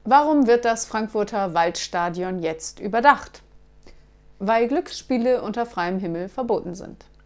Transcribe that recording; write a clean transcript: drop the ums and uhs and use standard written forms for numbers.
Warum wird das Frankfurter Waldstadion jetzt überdacht? Weil Glücksspiele unter freiem Himmel verboten sind.